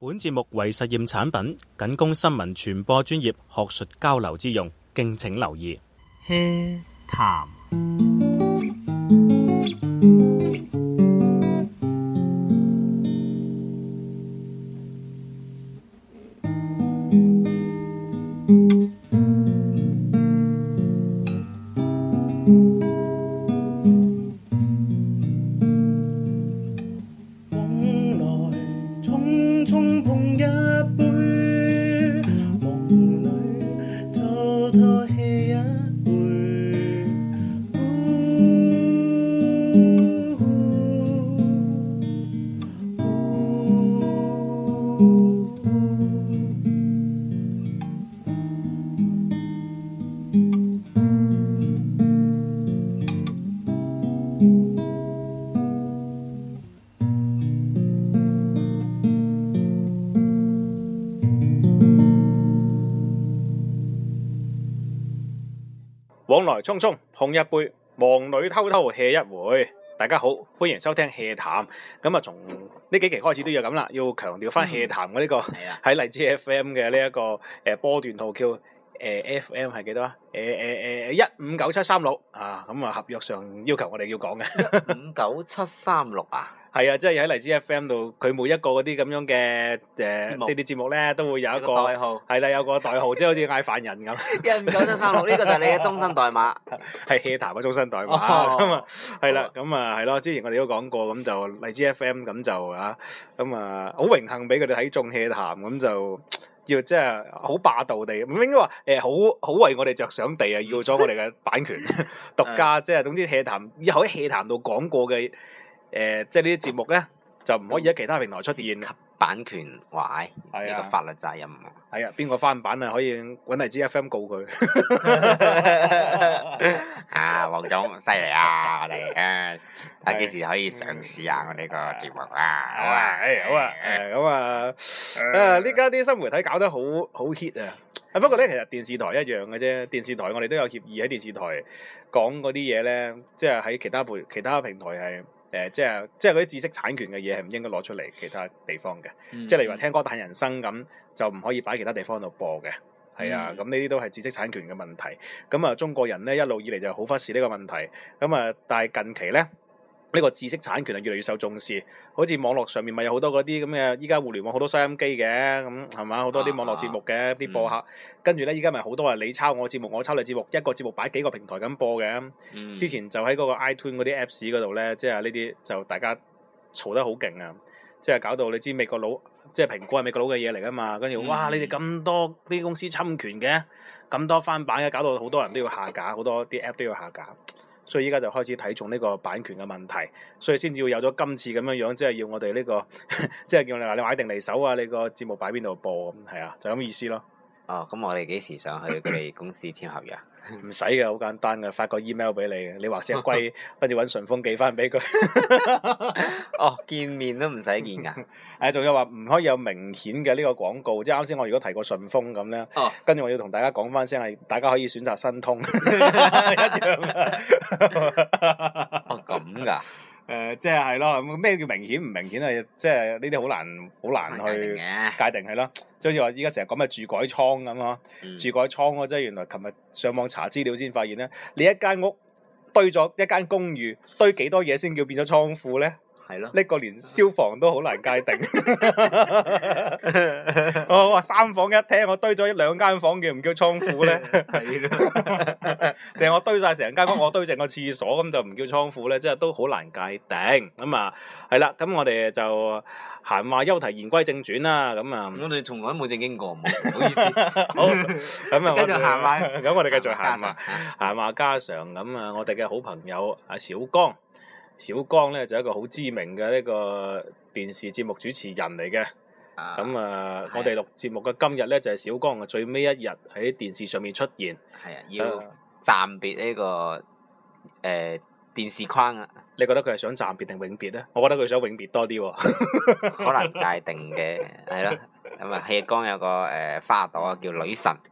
本節目為實驗產品，僅供新聞傳播專業學術交流之用，敬請留意。 HEA 談往來匆匆碰一杯，忙裏偷偷 hea 一回。大家好，歡迎收聽 hea 談。咁啊，從呢幾期開始都要咁啦，要強調翻 hea 談嘅呢個喺荔枝 FM 嘅呢一個波段號叫FM 係幾多啊？1593736啊，咁啊合約上要求我哋要講嘅 1593736啊。 係啊，即係喺荔枝 FM 度，佢每一個嗰啲咁樣嘅呢啲節目咧，都會有一個代號， 係啦，有個代號，即係好似嗌飯人咁。 1593736呢個就係你嘅終身代碼， 係 hea 談嘅終身代碼咁啊，係啦，咁啊係咯，之前我哋都講過，咁就荔枝 FM 咁就啊，咁啊好榮幸俾佢哋睇中 hea 談，咁就要即係好霸道地，唔應該話好為我哋着想地啊，要咗我哋嘅版權獨家，即係總之 hea 談以後喺 hea 談度講過嘅。即係呢啲節目咧，就唔可以喺其他平台出現。 版權壞呢個法律責任。 係啊，邊個翻版啊？可以揾荔枝 FM 告佢。 啊，黃總犀利啊！我哋睇下幾時可以上市啊！我呢個節目啊，好啊， 好啊，咁啊，呢家啲新媒體搞得好 hit 啊！不過咧，其實電視台一樣嘅啫。電視台我哋都有協議喺電視台講嗰啲嘢咧，即係喺其他平台係。即係嗰啲知識產權嘅嘢係唔應該攞出嚟其他地方嘅，即係例如話聽歌嘆人生咁，就唔可以擺其他地方度播嘅，係啊，咁呢啲都係知識產權嘅問題。咁啊，中國人咧一路以嚟就好忽視呢個問題，咁啊，但係近期咧。呢個知識產權係越嚟越受重視，好似網絡上面咪有好多嗰啲咁嘅，依家互聯網好多收音機嘅，咁係嘛，好多啲網絡節目嘅啲播客，跟住咧依家咪好多話你抄我節目，我抄你節目，一個節目擺幾個平台咁播嘅。之前就喺嗰個 iTunes 嗰啲 Apps 嗰度咧，即係呢啲就大家嘈得好勁啊！即係搞到你知美國佬，即係蘋果係美國佬嘅嘢嚟噶嘛，跟住哇你哋咁多呢啲公司侵權嘅，咁多翻版嘅，搞到好多人都要下架，好多啲 App 都要下架。所以依家就開始睇重呢個版權嘅問題，所以先至會有咗今次咁樣樣，即係要我哋呢個，即係叫你話你買定離手啊！你個節目擺邊度播咁，係啊，就咁意思咯。 哦，咁我哋幾時上去佢哋公司簽合約？ 唔使嘅，好簡單嘅，發個 email 俾你，你或者龜，跟住揾順豐寄翻俾佢。 哦，見面都唔使見㗎。 仲有話唔可以有明顯嘅呢個廣告，即係啱先我如果提過順豐咁咧，跟住我要同大家講翻聲係，大家可以選擇新通，一樣嘅。 哦，咁㗎。 即係咯，咩叫明顯唔明顯啊？即係呢啲好難去界定係咯。即係好似話依家成日講咩住改倉咁咯，住改倉咯，即係原來琴日上網查資料先發現咧，你一間屋堆咗一間公寓，堆幾多嘢先叫變咗倉庫咧？係咯，呢個連消防都好難界定。我話3房1廳，我堆咗2間房叫唔叫倉庫咧？係咯，定係我堆晒成間屋，我堆成個廁所咁就唔叫倉庫咧？即係都好難界定。咁啊，係啦，咁我哋就閒話休題，言歸正傳啦。咁啊， 我哋從來冇正經過，唔好意思。 好，咁啊， 繼續閒話。 咁我哋繼續閒話家常。咁啊，我哋嘅好朋友阿小江咧就係一個好知名嘅呢個電視節目主持人嚟嘅。咁我哋錄節目嘅今日咧就係小江嘅最尾一日喺電視上面出現。 係啊，要暫別呢個電視框啊！ 你覺得佢係想暫別定永別咧？我覺得佢想永別多啲喎。 可能界定嘅係咯。咁啊，戲江有個花朵叫女神。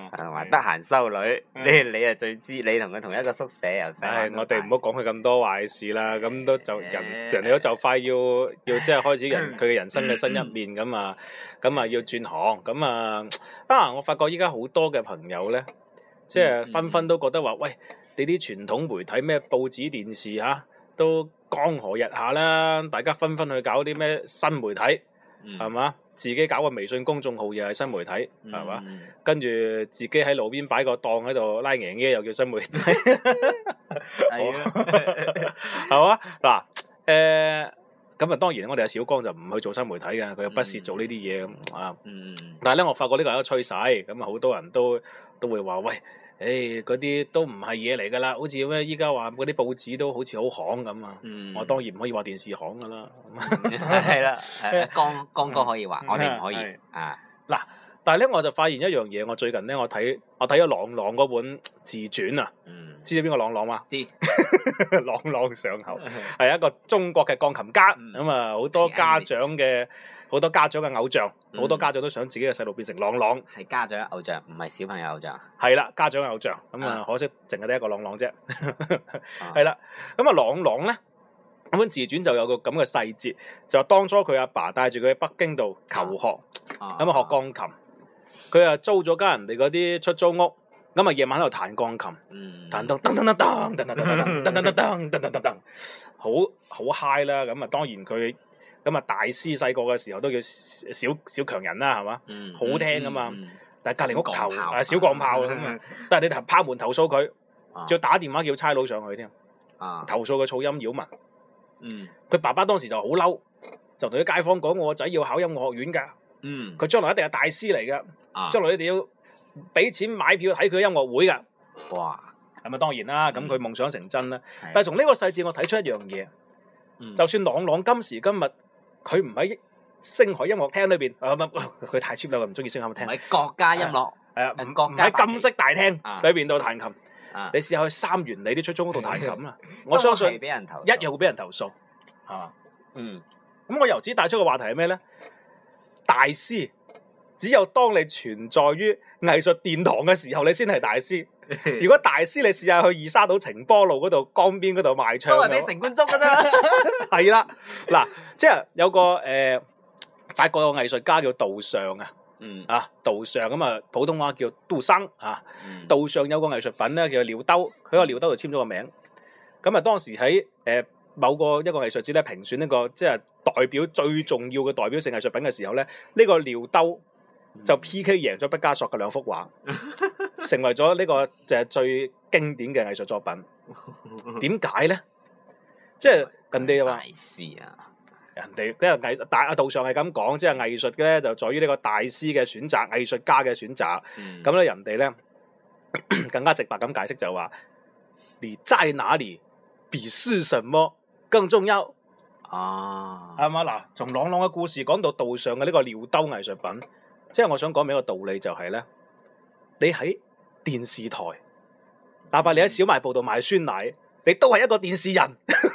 同埋得閒修女，你啊最知，你同佢同一個宿舍又使唉， 玩我哋唔好講佢咁多壞事啦，咁都就人哋都就快要即係開始佢嘅人生嘅新一面咁啊要轉行咁啊我發覺依家好多嘅朋友咧，即係紛紛都覺得話，喂，你啲傳統媒體咩報紙電視嚇都江河日下啦，大家紛紛去搞啲咩新媒體係嘛？自己搞個微信公眾號又係新媒體係嘛？跟住自己喺路邊擺個檔喺度拉贏嘅又叫新媒體，係嘛？嗱咁啊，當然我哋阿小江就唔去做新媒體嘅，佢又不屑做呢啲嘢咁啊。但係咧，我發覺呢個係一個趨勢，咁啊好多人都會話喂。嗰啲都唔係嘢嚟㗎啦，好似咩依家話嗰啲報紙都好似好行咁啊！我當然唔可以話電視行㗎啦， 係啦，江哥可以話，我哋唔可以啊。嗱， 但係咧我就發現一樣嘢，我最近咧我睇咗郎朗嗰本自傳啊，知道邊個郎朗嘛？知，朗朗上口係一個中國嘅鋼琴家，咁啊好多家長嘅偶像，好多家長都想自己嘅細路變成郎朗， 係家長偶像，唔係小朋友偶像。 係啦，家長偶像，咁啊可惜淨係得一個郎朗啫。係啦，咁啊郎朗咧，咁本自傳就有個咁嘅細節，就話當初佢阿爸帶住佢喺北京度求學，咁啊學鋼琴，佢啊租咗間人哋嗰啲出租屋，咁啊夜晚喺度彈鋼琴，彈噔噔噔噔噔噔噔噔噔噔噔噔噔噔，好 high 啦，咁啊當然佢。咁啊，大師細個嘅時候都叫小強人啦，係嘛？好聽噶嘛。但係隔離屋頭小鋼炮咁啊，但係你拋門投訴佢，仲要打電話叫差佬上去添。投訴佢噪音擾民。佢爸爸當時就好嬲，就同啲街坊講：我個仔要考音樂學院㗎。佢將來一定係大師嚟㗎。將來你哋要俾錢買票睇佢音樂會㗎。哇！係咪當然啦？咁佢夢想成真啦。但係從呢個細節我睇出一樣嘢，就算朗朗今時今日。佢唔喺星海音樂廳裏邊，佢太 cheap 啦，佢唔中意星海音樂廳。 喺國家音樂， 唔喺金色大廳裏邊度彈琴。你試下去三元里啲出租屋度彈琴啦，我相信一樣會俾人投訴，係嘛？咁我由此帶出個話題係咩咧？大師只有當你存在於藝術殿堂嘅時候，你先係大師。如果大師，你試下去二沙島晴波路嗰度江邊嗰度賣唱， 都係俾城管捉㗎啫。 係啦，嗱，即係有個法國有個藝術家叫杜尚啊，杜尚咁啊，普通話叫杜生啊。杜尚有個藝術品咧叫尿兜，佢個尿兜就簽咗個名。咁啊，當時喺某個一個藝術節咧評選呢個即係代表最重要嘅代表性藝術品嘅時候咧，呢個尿兜就 P.K. 贏咗畢加索嘅兩幅畫，成為咗呢個就係最經典嘅藝術作品。點解咧？即係人哋話，人哋即係藝術大道上係咁講，即係藝術嘅咧就在於呢個大師嘅選擇、藝術家嘅選擇。咁咧人哋咧更加直白咁解釋就話：你在哪裡，比是什麼更重要。係嘛？嗱，從朗朗嘅故事講到道上嘅呢個尿兜藝術品。即係我想講俾一個道理就係咧，你喺電視台，哪怕你喺小賣部度賣酸奶，你都係一個電視人。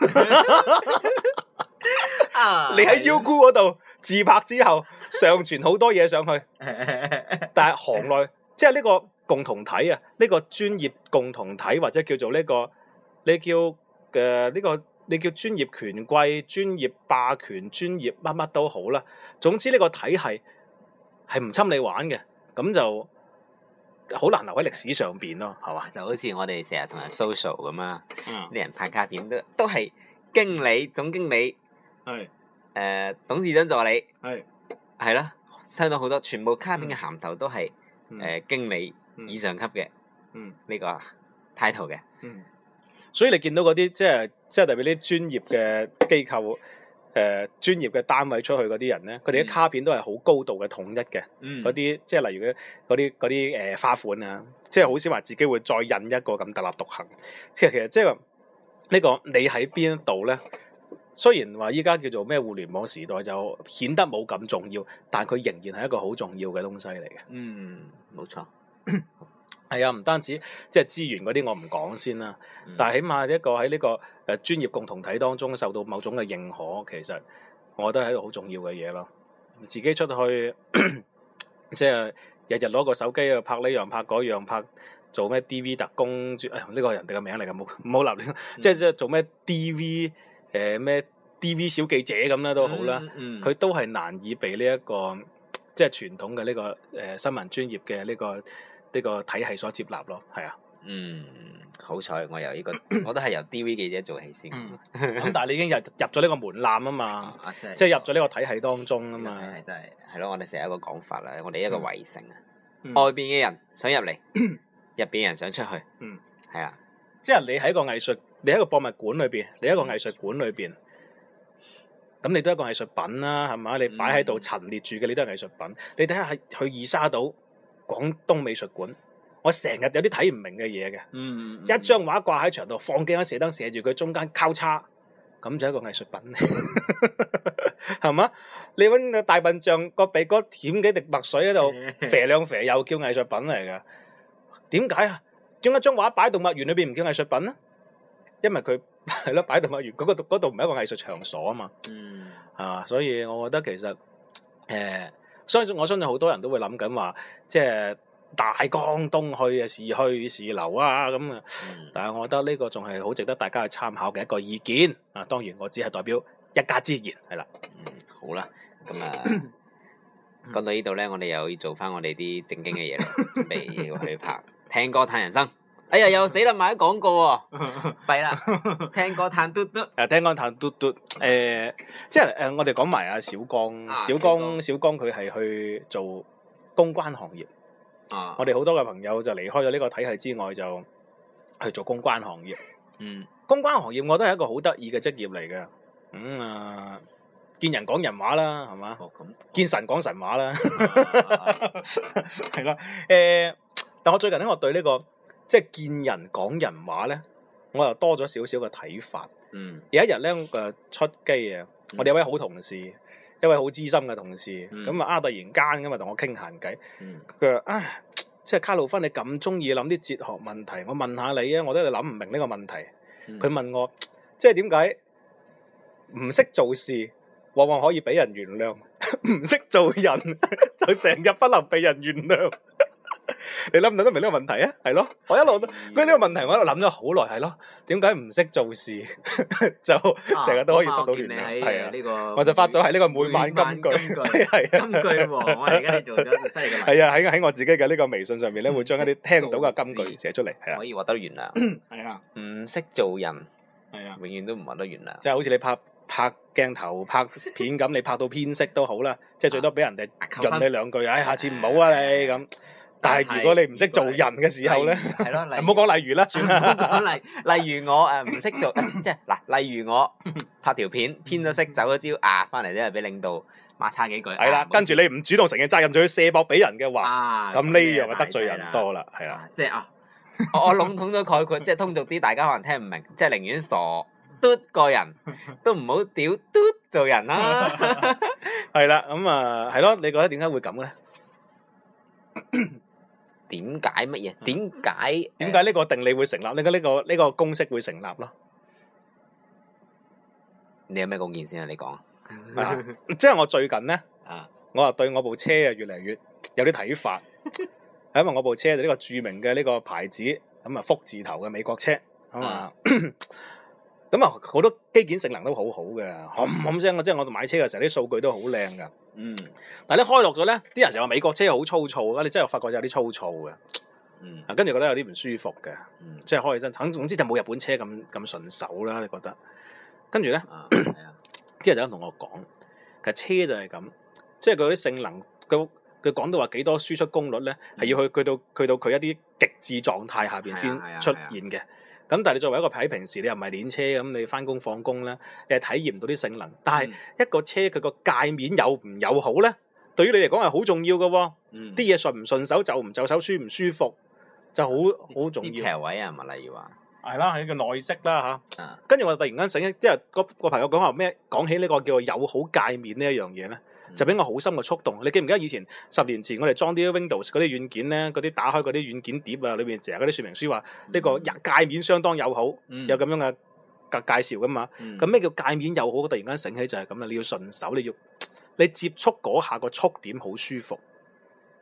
你喺 Youku 嗰度自拍之後上傳好多嘢上去，但係行內即係呢個共同體啊，呢個專業共同體或者叫做呢個你叫專業權貴、專業霸權、專業乜乜都好啦。總之呢個體系係唔侵你玩嘅，咁就好難留喺歷史上邊咯，係嘛？ 就好似我哋成日同人 social 咁啊，啲人派卡片都係經理、總經理，董事長助理，係啦，聽到好多全部卡片嘅銜頭都係經理以上級嘅呢個 title 嘅。 所以你見到嗰啲即係代表啲專業嘅機構。專業嘅單位出去嗰啲人咧，佢哋啲卡片都係好高度嘅統一嘅，嗰啲即係例如嗰啲花款啊，即係好少話自己會再印一個咁特立獨行。即係其實即係呢個你喺邊度咧？雖然話依家叫做咩互聯網時代就顯得冇咁重要，但係佢仍然係一個好重要嘅東西嚟嘅。 冇錯。 係啊，唔單止即係資源嗰啲我唔講先啦，但係起碼一個喺呢個專業共同體當中受到某種嘅認可，其實我覺得係一個好重要嘅嘢咯。自己出去即係日日攞個手機去拍呢樣拍嗰樣拍。做咩 D.V. 特工？呢個係人哋嘅名嚟㗎，唔好立亂。即係做咩 D.V. 咩 D.V. 小記者咁啦都好啦，佢都係難以被呢一個即係傳統嘅呢個新聞專業嘅呢個體系所接納咯，係啊。 好彩我由呢個，我都係由 D.V. 記者做起先。 咁但係你已經入咗呢個門檻啊嘛，即係入咗呢個體系當中啊嘛。 係真係係咯，我哋成日一個講法啦，我哋一個圍城啊，外邊嘅人想入嚟。入邊人想出去，係啊， 即係你喺個藝術，你喺個博物館裏邊，你喺個藝術館裏邊，咁你都係一個藝術品啦，係嘛？你擺喺度陳列住嘅，你都係藝術品。你睇下去二沙島廣東美術館，我成日有啲睇唔明嘅嘢嘅，一張畫掛喺牆度，放幾盞射燈射住佢，中間交叉，咁就係一個藝術品，係嘛？你搵個大笨象個鼻哥舔幾滴墨水喺度，肥兩肥又叫藝術品嚟㗎。點解啊？將一張畫擺喺動物園裏邊唔叫藝術品咧？因為佢係咯，擺喺動物園嗰度唔係一個藝術場所啊嘛。所以我覺得其實我相信好多人都會諗緊話，即係大江東去啊，是去是留啊咁啊。但係我覺得呢個仲係好值得大家去參考嘅一個意見啊。當然我只係代表一家之言，係啦。 好啦，咁啊。講到呢度咧，我哋又要做翻我哋啲正經嘅嘢啦，準備要去拍聽歌嘆人生。哎呀，又死啦，買咗廣告喎，弊啦！聽歌嘆嘟嘟， 聽歌嘆嘟嘟。即係我哋講埋阿小江，小江佢係去做公關行業。我哋好多嘅朋友就離開咗呢個體系之外，就去做公關行業。公關行業我覺得係一個好得意嘅職業嚟嘅。見人講人話啦，係嘛？見神講神話啦，係啦。但我最近咧，我對呢個即係見人講人話咧，我又多咗少少嘅睇法。有一日咧，出機啊，我哋有位好同事，一位好資深嘅同事，咁啊突然間咁啊同我傾閒偈，佢話即係卡路芬，你咁中意諗啲哲學問題，我問下你啊，我都係諗唔明呢個問題。佢問我，即係點解唔識做事，往往可以俾人原諒，唔識做人就成日不能被人原諒。你諗唔諗得明呢個問題啊？係咯，我一路都呢個問題，我喺度諗咗好耐，係咯，點解唔識做事就成日都可以得到原諒？係啊，呢個我就發咗喺呢個每晚金句，係金句王，我而家你做咗犀利嘅。 係啊，喺我自己嘅呢個微信上面咧，會將一啲聽到嘅金句寫出嚟，係啊， 可以獲得原諒。 係啊， 唔識做人， 係啊， 永遠都唔獲得原諒。 即係好似你拍鏡頭拍片咁，你拍到偏色都好啦，即係最多俾人哋潤你兩句，下次唔好啊你咁。但係如果你唔識做人嘅時候咧，係咯，唔好講例如啦，算啦。唔好講例如我唔識做，即係嗱，例如我拍條片偏咗色走咗招翻嚟咧，俾領導罵差幾句。 係啦，跟住你唔主動承認責任，仲要卸膊俾人嘅話，咁呢樣就得罪人多啦，係啦。 即係我籠統咗概括，即係通俗啲，大家可能聽唔明，即係寧願傻嘟個人，都唔好屌嘟做人啦。 係啦，咁係咯，你覺得點解會咁咧？ 點解乜嘢？點解呢個定理會成立？點解呢個公式會成立咯？ 你有咩貢獻先啊？你講。 即係我最近咧，我又對我部車啊越嚟越有啲睇法，係因為我部車就呢個著名嘅呢個牌子，咁啊福字頭嘅美國車，咁啊好多機件性能都好好嘅，冚聲即係我買車嘅時候啲數據都好靚噶。但係你開落咗咧，啲人成日話美國車好粗糙啊，你真係發覺有啲粗糙嘅。跟住覺得有啲唔舒服嘅，即係開起身，總之就冇日本車咁順手啦。你覺得？跟住咧，啲人就咁同我講，其實車就係咁，即係佢啲性能，佢講到話幾多輸出功率咧，係要去到佢一啲極致狀態下邊先出現嘅。咁但係你作為一個喺平時你又唔係練車咁，你翻工放工咧，你係體驗唔到啲性能。但係一個車佢個界面有唔友好咧，對於你嚟講係好重要嘅喎。啲嘢順唔順手，就唔就手，舒唔舒服，就好重要。啲騎位啊，咪例如話係啦，係個內飾啦嚇。跟住我突然間醒起，即係個朋友講話咩？講起呢個叫做友好界面呢一樣嘢咧，就俾我好深嘅觸動。你記唔記得以前10年前我哋裝啲 Windows 嗰啲軟件咧，嗰啲打開嗰啲軟件碟啊，裏邊成日嗰啲說明書話呢個界面相當友好，有咁樣嘅介紹噶嘛？咁咩叫界面友好？突然間醒起就係咁啦，你要順手，你接觸嗰下個觸點好舒服。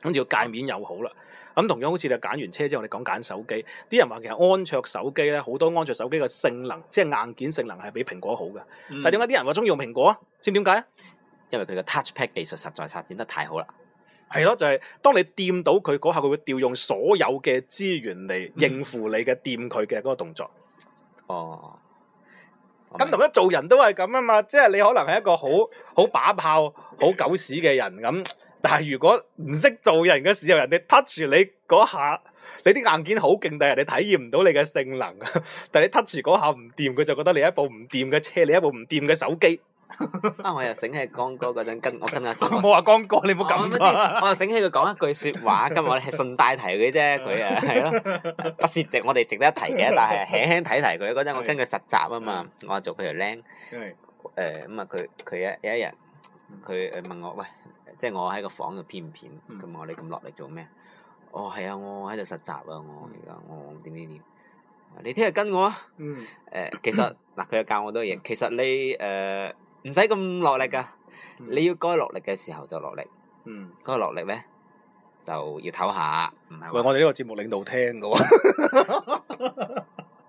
跟住個界面又好啦。咁同樣好似你揀完車之後，你講揀手機，啲人話其實安卓手機咧，好多安卓手機嘅性能，即係硬件性能係比蘋果好嘅。但係點解啲人話中意用蘋果啊？知唔知點解啊？ 因為佢嘅 touchpad 技術實在發展得太好啦。 係咯，就係當你掂到佢嗰下，佢會調用所有嘅資源嚟應付你嘅掂佢嘅嗰個動作。 哦。 咁同樣做人都係咁啊嘛，即係你可能係一個好把炮、好狗屎嘅人咁。但係如果唔識做人嘅時候，人哋 touch 你嗰下，你啲硬件好勁，但係人哋體驗唔到你嘅性能。但係你 touch 嗰下唔掂，佢就覺得你一部唔掂嘅車，你一部唔掂嘅手機。 我又醒起江哥嗰陣跟阿冇話江哥，你唔好咁。 我又醒起佢講一句說話，今日我哋係順帶提佢啫，佢啊係咯，不是我哋值得一提嘅，但係輕輕提提佢嗰陣，我跟佢實習啊嘛，我做佢條僆。咁啊，佢有一日佢問我喂。即係我喺個房度編唔編，咁我你咁落力做咩？哦係啊，我喺度實習啊，我而家我點，你聽日跟我啊。其實嗱，佢又教我多嘢。其實你唔使咁落力噶，你要該落力嘅時候就落力。該落力咧就要唞下，唔係。 喂，我哋呢個節目領導聽噶喎。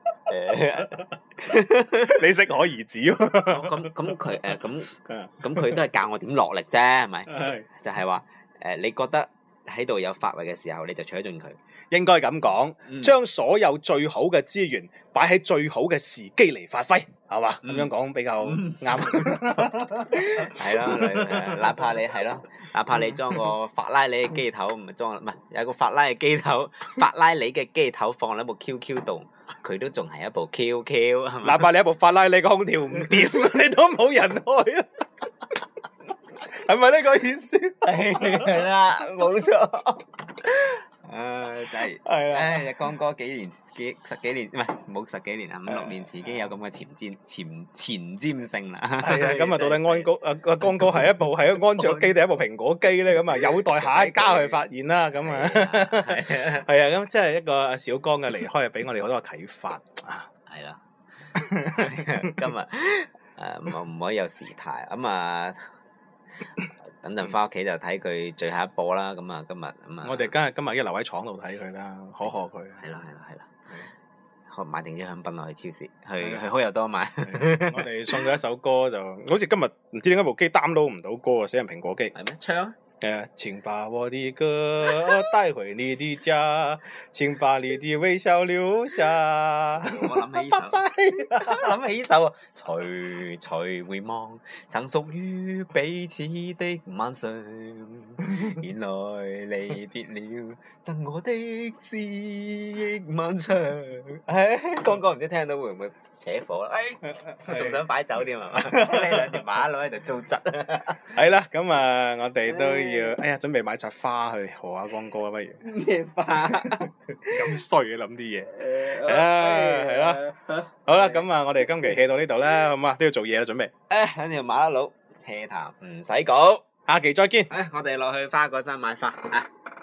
你適可而止喎。 咁佢咁佢都係教我點落力啫，係咪？就係話你覺得喺度有發揮嘅時候，你就取盡佢。 應該咁講，將所有最好嘅資源擺喺最好嘅時機嚟發揮，係嘛？咁樣講比較啱。 係咯，哪怕你係咯，哪怕你裝個法拉利嘅機頭，唔係有個法拉利嘅機頭，法拉利嘅機頭放喺部 QQ 度，佢都仲係一部 QQ，係嘛？ 哪怕你一部法拉利嘅空調唔掂，你都冇人開啊！係咪呢個意思？ 係啦，冇錯。真係，江哥十幾年唔係冇十幾年啊，5、6年前已經有咁嘅前瞻性啦。 係啊，咁啊，到底江哥係一個安卓機定係一部蘋果機咧？咁啊，有待下一家去發現啦。咁啊，係啊，咁即係一個小江嘅離開，俾我哋好多啟發。 係啦，今日唔可以有時態咁啊。等陣翻屋企就睇佢最後一播啦，咁啊今日咁啊。 我哋今日一留喺廠度睇佢啦，可賀佢。 係啦，買定啲香檳落去超市，去好友多買。 我哋送咗一首歌，就好似今日唔知點解部機 download 唔到歌啊，死人蘋果機。 係咩？唱啊！ 請把我的歌帶回你的家，請把你的微笑留下。 我諗起呢首啊，徐徐回望，曾屬於彼此的晚上，原來離別了，贈我的思憶漫長。剛剛唔知聽到會唔會扯火啦？仲想擺酒添係嘛？呢兩條馬佬喺度糟質。 係啦，咁啊，我哋都要，準備買扎花去賀下江哥啊，不如。 咩花？ 咁衰嘅諗啲嘢。係啦。好啦，咁啊，我哋今期 hea 到呢度啦，好嘛？都要做嘢啦，準備。 兩條馬佬 hea 談唔使講， 下期再見。 我哋落去花果山買花啊！